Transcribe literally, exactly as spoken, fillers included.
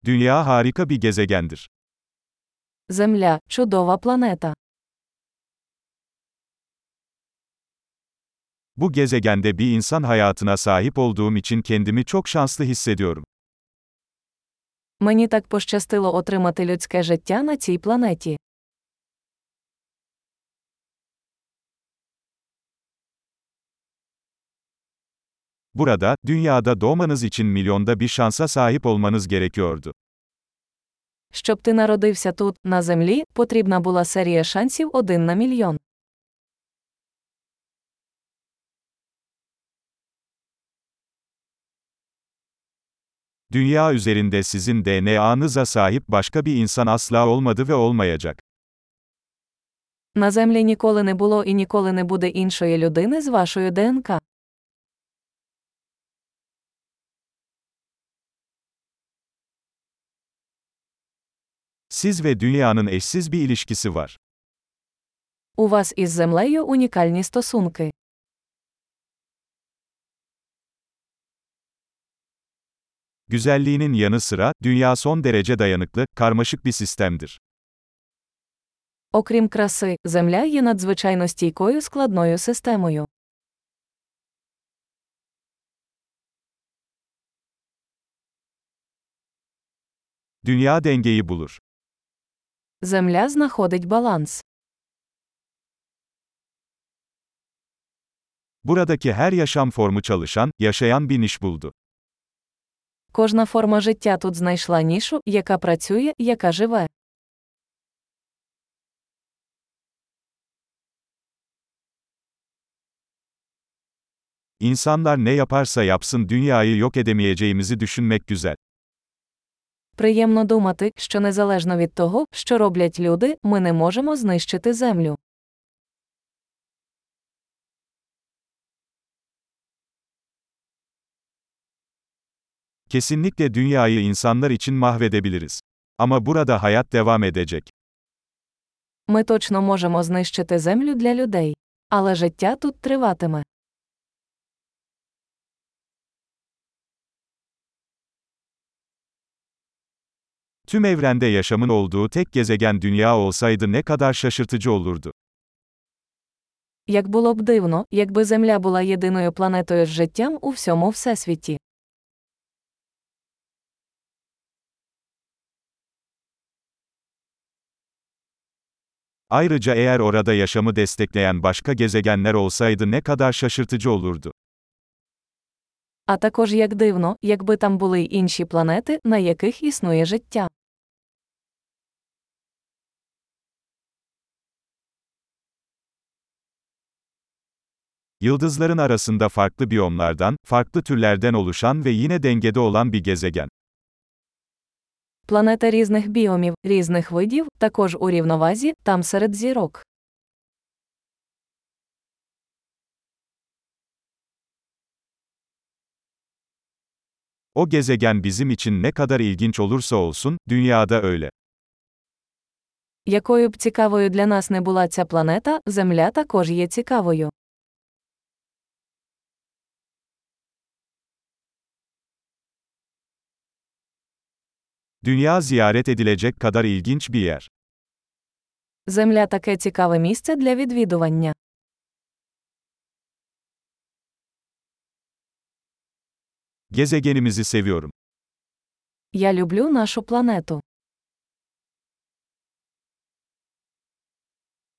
Dünya harika bir gezegendir. Земля – чудова планета. Bu gezegende bir insan hayatına sahip olduğum için kendimi çok şanslı hissediyorum. Мені так пощастило отримати людське життя на цій планеті. Burada, dünyada doğmanız için milyonda bir şansa sahip olmanız gerekiyordu. Щоб ти народився тут, на землі, потрібна була серія шансів один на мільйон. Dünya üzerinde sizin D N A'nıza sahip başka bir insan asla olmadı ve olmayacak. На землі ніколи не було і ніколи не буде іншої людини з вашою ДНК. Siz ve dünyanın eşsiz bir ilişkisi var. У вас із землею унікальні стосунки. Güzelliğinin yanı sıra, dünya son derece dayanıklı, karmaşık bir sistemdir. Окрім краси, Земля є надзвичайно стійкою складною системою. Dünya dengeyi bulur. Земля знаходить баланс. Buradaki her yaşam formu çalışan, yaşayan bir niş buldu. Кожна форма життя тут знайшла нішу, яка працює, яка живе. İnsanlar ne yaparsa yapsın dünyayı yok edemeyeceğimizi düşünmek güzel. Приємно думати, що незалежно від того, що роблять люди, ми не можемо знищити Землю. Kesinlikle dünyayı insanlar için mahvedebiliriz. Ama burada hayat devam edecek. Ми точно можемо знищити Землю для людей. Але життя тут триватиме. Tüm evrende yaşamın olduğu tek gezegen dünya olsaydı ne kadar şaşırtıcı olurdu. Як було б дивно, якби Земля була єдиною планетою з життям у всьому Всесвіті. Ayrıca eğer orada yaşamı destekleyen başka gezegenler olsaydı ne kadar şaşırtıcı olurdu. А також як дивно, якби там були й інші планети, на яких існує життя. Yıldızların arasında farklı biyomlardan, farklı türlerden oluşan ve yine dengede olan bir gezegen. Планета різних біомів, різних видів, також у рівновазі, там серед зірок. O gezegen bizim için ne kadar ilginç olursa olsun, dünyada öyle. Якою б цікавою для нас не була ця планета, Земля також є цікавою. Dünya ziyaret edilecek kadar ilginç bir yer. Земля таке цікаве місце для відвідування. Gezegenimizi seviyorum. Я люблю нашу планету.